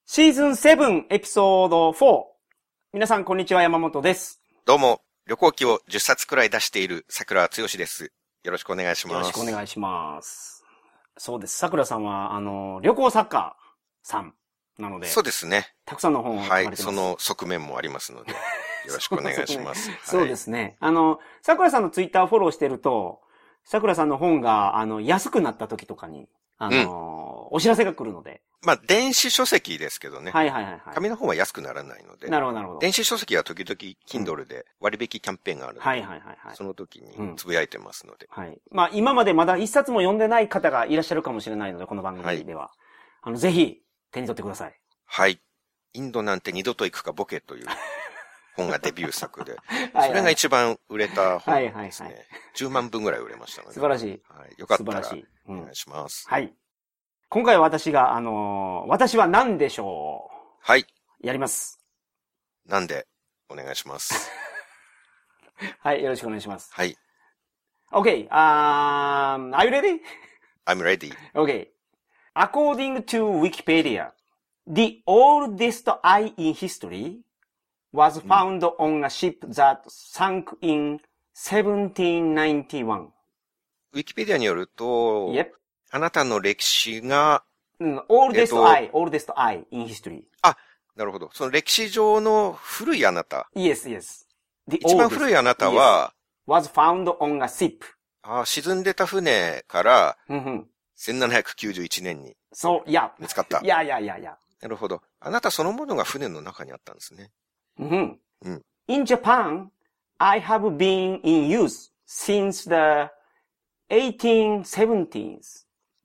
シーズン7エピソード4。皆さんこんにちは、山本です。 どうも、旅行記を10冊くらい出している桜剛です。よろしくお願いします。 よろしくお願いします。そうです。桜さんは、旅行作家さんなので。 そうですね。 たくさんの本を書かれてます。 はい、その側面もありますので、よろしくお願いします。 そうですね。桜さんのツイッターフォローしてると、桜さんの本が、安くなった時とかに、お知らせが来るので。 まあ、電子書籍ですけどね。 はいはいはい、はい。 紙の本は安くならないので。 なるほどなるほど。 電子書籍は時々 Kindle で割引キャンペーンがあるので。 はいはいはいはい。 その時につぶやいてますので。 はい。まあ、今までまだ一冊も読んでない方がいらっしゃるかもしれないので、この番組では。はい、ぜひ、手に取ってください。 はい。インドなんて二度と行くかボケという本がデビュー作で。それが一番売れた本ですね。10万部ぐらい売れましたので。 素晴らしい。 はい。よかったら、お願いします。 はい。今回は私が、私は何でしょう。 はい。 やります。 なんで、お願いします。 はい、よろしくお願いします。 はい。 Okay, are you ready? I'm ready. Okay. According to Wikipedia, the oldest eye in history was found on a ship that sank in 1791. ウィキペディアによると、 Yep. あなたの歴史が、 oldest eye in history. あ、なるほど。その歴史上の古いあなた。 Yes, yes. 一番古いあなたは、 was found on a ship. 沈んでた船から、1791年に。 そう、いや。 見つかった。 いや。 なるほど。あなたそのものが船の中にあったんですね。 In Japan, I have been in use since the 1870s.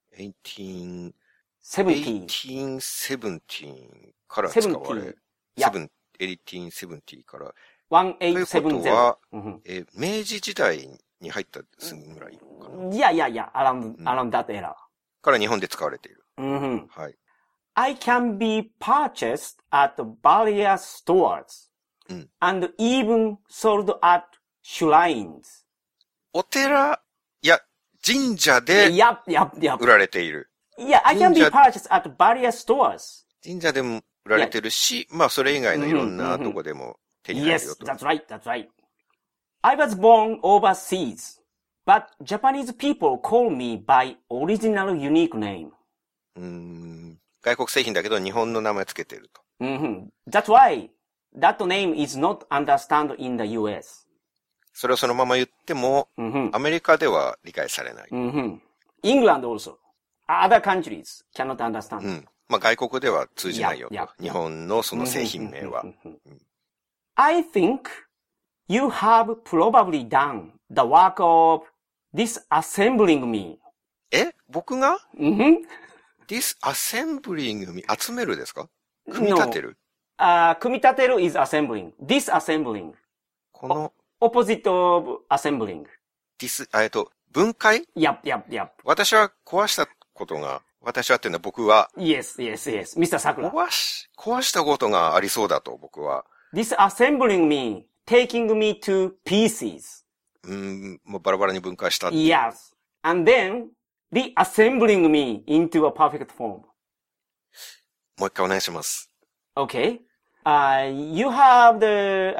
1870から使われ、1870から。 1870。 ということは、明治時代に入ったすぐぐらいかな。 いや、around that era. から日本で使われている。 はい。I can be purchased at various stores, and even sold at shrines. お寺、いや、神社で売られている。 Yeah, I can be purchased at various stores. 神社でも売られてるし、まあそれ以外のいろんなとこでも手に入るよと。 Yes, that's right. I was born overseas, but Japanese people call me by original unique name. 外国製品だけど日本の名前つけてると。 That's why that name is not understood in the US. それをそのまま言っても、アメリカでは理解されない。 England also. Other countries cannot understand. まあ外国では通じないよと。日本のその製品名は。 I think you have probably done the work of disassembling me. 僕がdisassembling me 集めるですか？組み立てる？ 組み立てる is assembling. Disassembling. この opposite of assembling. 分解？ Yep. 私は壊したことが、私はっていうのは僕は。 Yes. Mr. Sakura. 壊したことがありそうだと、僕は。 Disassembling me, taking me to pieces. もうバラバラに分解した。 Yes. And then, reassembling me into a perfect form. もう一回お願いします。 Okay. You have the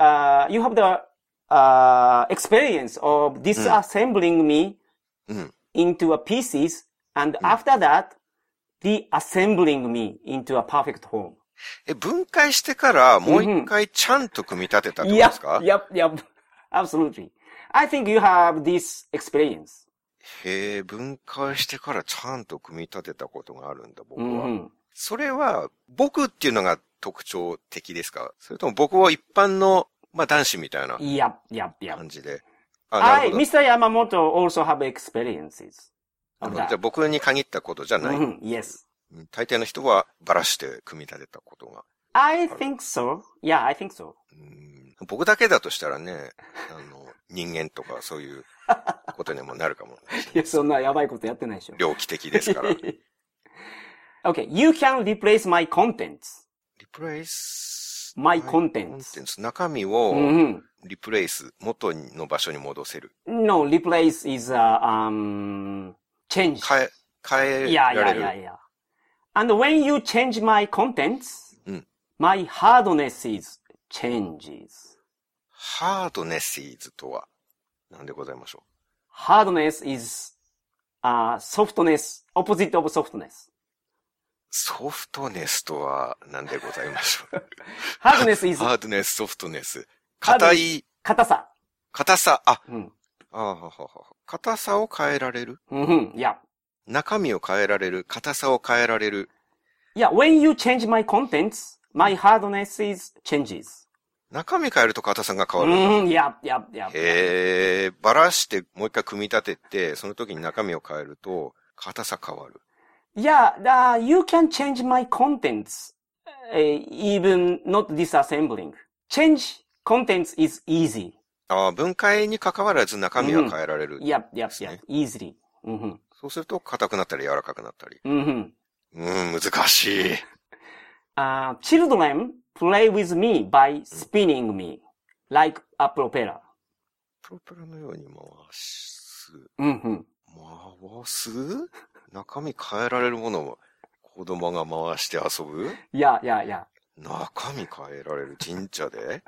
experience of disassembling me into a pieces, and after that, reassembling me into a perfect form. 分解してからもう一回ちゃんと組み立てたってことですか？ Yep. Absolutely. I think you have this experience. 分解してからちゃんと組み立てたことがあるんだ、僕は。それは、僕っていうのが特徴的ですか？それとも僕は一般の、まあ男子みたいな感じで。 Mr. Yamamoto also have experiences. じゃあ僕に限ったことじゃない。 Yes. 大抵の人はばらして組み立てたことが。 I think so. Yeah, I think so. 僕だけだとしたらね、人間とかそういうことにもなるかも。 いや、そんなやばいことやってないでしょ。 猟奇的ですから。 Okay, you can replace my contents. Replace my contents. 中身をリプレイス、元の場所に戻せる。 No, replace is change. 変えられる。 Yeah. And when you change my contents, My hardness is changes.hardness is とは何でございましょう。 hardness is, softness, opposite of softness. ソフトネスとは何でございましょう。 hardness is, hardness, ソフトネス。硬い。 硬さ。 硬さ。硬さを変えられる。 Yeah. 中身を変えられる。硬さを変えられる。 Yeah, when you change my contents, my hardness is changes. 中身変えると硬さが変わる。 Yeah. ばらしてもう一回組み立てて、その時に中身を変えると硬さ変わる。 Yeah, you can change my contents, even not disassembling. Change contents is easy. 分解に関わらず中身は変えられる、 Yeah, easily. そうすると硬くなったり柔らかくなったり。難しい。 Children play with me by spinning me like a propeller. プロペラのように回す。回す？中身変えられるものを子供が回して遊ぶ？ Yeah. 中身変えられる神社で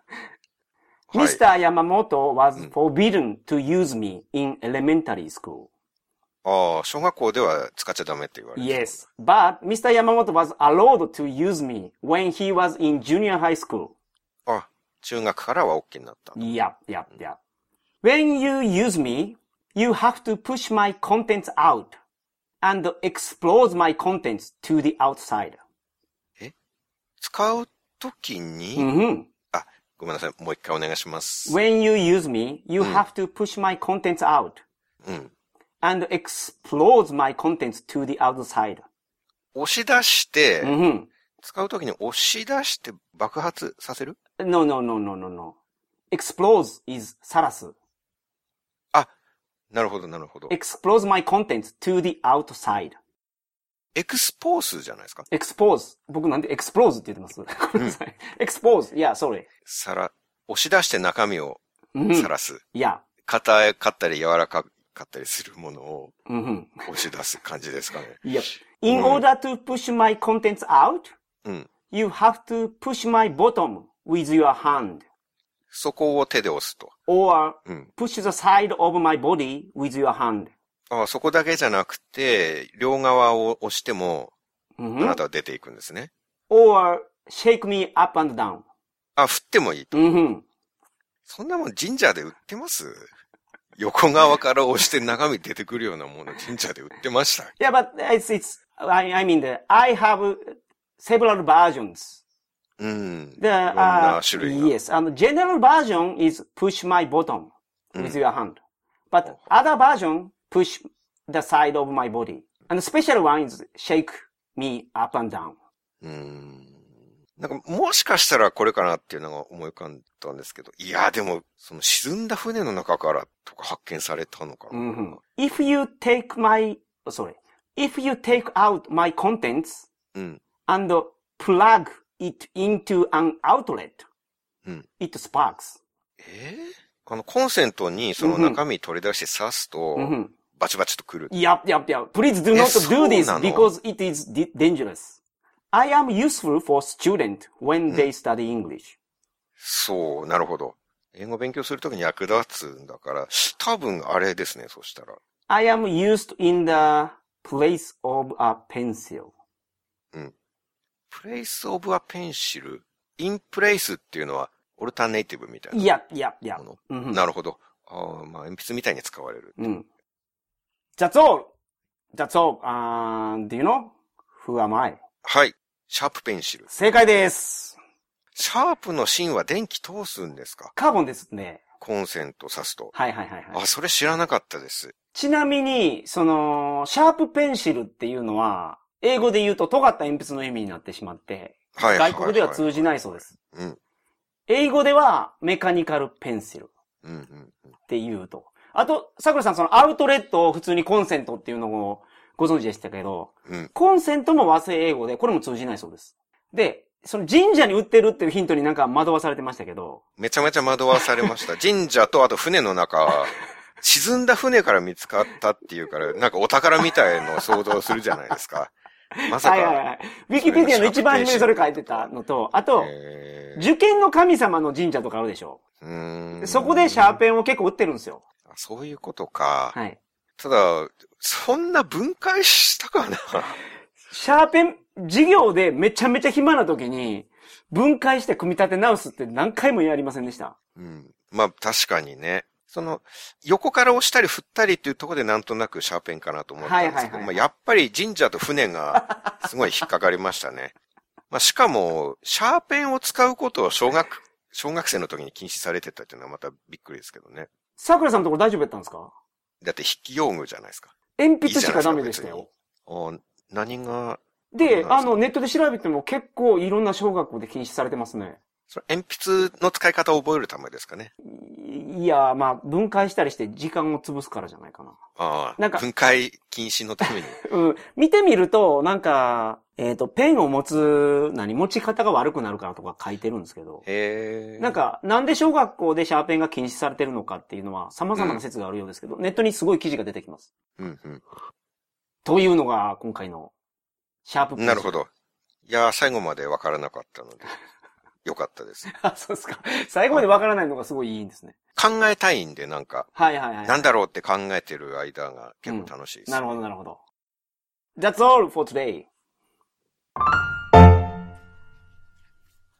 Mr. Yamamoto was forbidden to use me in elementary school. 小学校では使っちゃダメって言われてる。 Yes, but Mr. Yamamoto was allowed to use me when he was in junior high school. 中学からは OK になった。 Yeah. When you use me, you have to push my contents out and expose my contents to the outside. 使うときに、ごめんなさい。もう一回お願いします。 When you use me, you have to push my contents out. And expose my contents to the outside. 押し出して、使うときに押し出して爆発させる？ No. Expose is さらす。 なるほど。 Expose my contents to the outside. エクスポースじゃないですか？ Expose. 僕なんで expose って言ってます？ごめんなさい。Expose. Yeah, sorry. 押し出して中身をさらす。 Yeah. 硬かったり柔らかかったりするものを押し出す感じですかね。 Yep. In order to push my contents out, you have to push my bottom with your hand. そこを手で押すと。 Or push the side of my body with your hand. そこだけじゃなくて、両側を押しても、あなたは出ていくんですね。 Or shake me up and down. 振ってもいいと。そんなもん神社で売ってます？横側から押して中身出てくるようなもの神社で売ってました。 Yeah, but I mean, I have several versions. いろんな種類が。 Yes, general version is push my bottom with your hand. But other version, push the side of my body. And the special one is shake me up and down. なんかもしかしたらこれかなっていうのが思い浮かんだんですけど。いや、でも、その沈んだ船の中からとか発見されたのかな。 If you take out my contents and plug it into an outlet, it sparks. コンセントにその中身取り出して刺すと、バチバチとくる。 Yep. Please do not do this because it is dangerous. I am useful for students when they study English. そう、なるほど。英語を勉強するときに役立つんだから、多分あれですね、そしたら。 I am used in the place of a pencil. place of a pencil? in place っていうのは、オルタネイティブみたいな。 Yeah. なるほど。鉛筆みたいに使われる。 That's all. Do you know who am I? はい。シャープペンシル。 正解です。 シャープの芯は電気通すんですか？ カーボンですね。 コンセント挿すと。 はい。 それ知らなかったです。 ちなみに、シャープペンシルっていうのは、英語で言うと尖った鉛筆の意味になってしまって、外国では通じないそうです。英語ではメカニカルペンシルって言うと。あと、桜さん、アウトレットを普通にコンセントっていうのをご存知でしたけど、コンセントも和製英語で、これも通じないそうです。で、神社に売ってるっていうヒントになんか惑わされてましたけど。 めちゃめちゃ惑わされました。神社とあと船の中、沈んだ船から見つかったっていうから、なんかお宝みたいのを想像するじゃないですか。 まさか。 はいはいはい。ウィキペディアの一番初めにそれ書いてたのと、あと、受験の神様の神社とかあるでしょ。そこでシャーペンを結構売ってるんですよ。 そういうことか。 はい。 ただ、そんな分解したかな。 シャーペン、授業でめちゃめちゃ暇な時に、分解して組み立て直すって何回もやりませんでした。 うん。まあ確かにね。横から押したり振ったりっていうところでなんとなくシャーペンかなと思ったんですけど、まあやっぱり神社と船がすごい引っかかりましたね。まあしかも、シャーペンを使うことを小学生の時に禁止されてたっていうのはまたびっくりですけどね。 桜さんのところ大丈夫やったんですか？ だって筆記用具じゃないですか。 鉛筆しかダメでしたよ。 何が。 で、ネットで調べても結構いろんな小学校で禁止されてますね。 鉛筆の使い方を覚えるためですかね。 いや、まあ、分解したりして時間を潰すからじゃないかな。 ああ。分解禁止のために。 うん。見てみると、なんか、ペンを持ち方が悪くなるからとか書いてるんですけど。なんか、なんで小学校でシャーペンが禁止されてるのかっていうのは様々な説があるようですけど、ネットにすごい記事が出てきます。 うんうん。 というのが今回のシャープペンシル。 なるほど。いや、最後までわからなかったので。よかったです。 あ、そうですか。最後までわからないのがすごいいいんですね。 考えたいんで、なんか。 はいはいはい。 なんだろうって考えてる間が結構楽しいです、 なるほどなるほど。That's all for today.